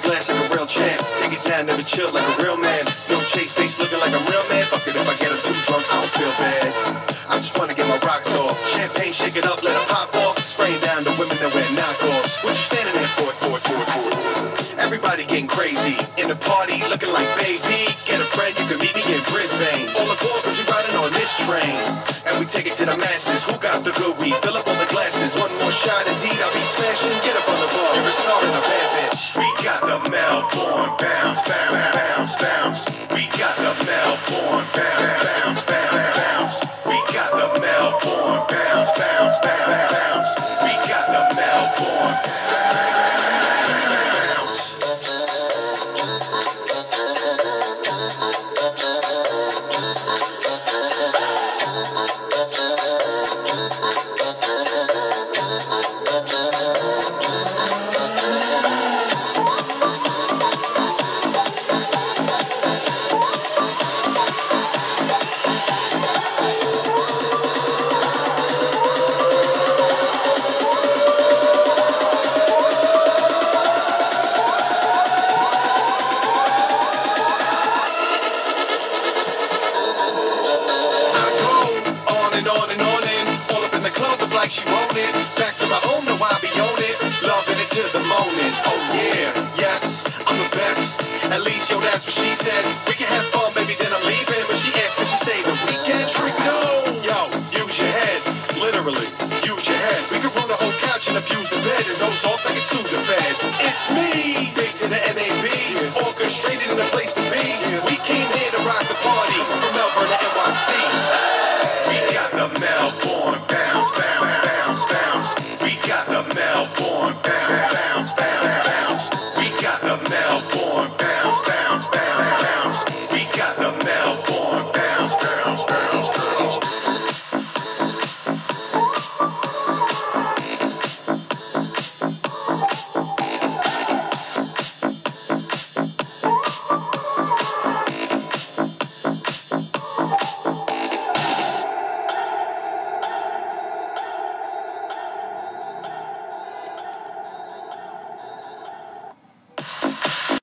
glass like a real champ. Take it down, never chill like a real man. No chase face looking like a real man. Fuck it if I get him too drunk, I don't feel bad. I just wanna get my rocks off. Champagne, shake it up, let it pop off. Spraying down the women that wear knockoffs. What you standing there for? Everybody getting crazy. In the party, looking like baby. Get a friend, you can meet me in Brisbane. All aboard, cause you're riding on this train. And we take it to the masses. Who got the good weed? Fill up all the glasses. One more shot, indeed, I'll be smashing. Get up on the bar. You're a star and a bad bitch. We got the Melbourne bounce, bounce, bounce, bounce. We got the Melbourne bounce, bounce, bounce, bounce. We got the Melbourne bounce, bounce, bounce, bounce. We got the Melbourne bounce. She wrote it. Back to my home, now I be on it. Loving it to the moment. Oh yeah, yes, I'm the best. At least, yo, that's what she said. We can have fun, baby, then I'm leaving. But she asked, can she stay the weekend? Trick, no. Yo, use your head. Literally, use your head. We can run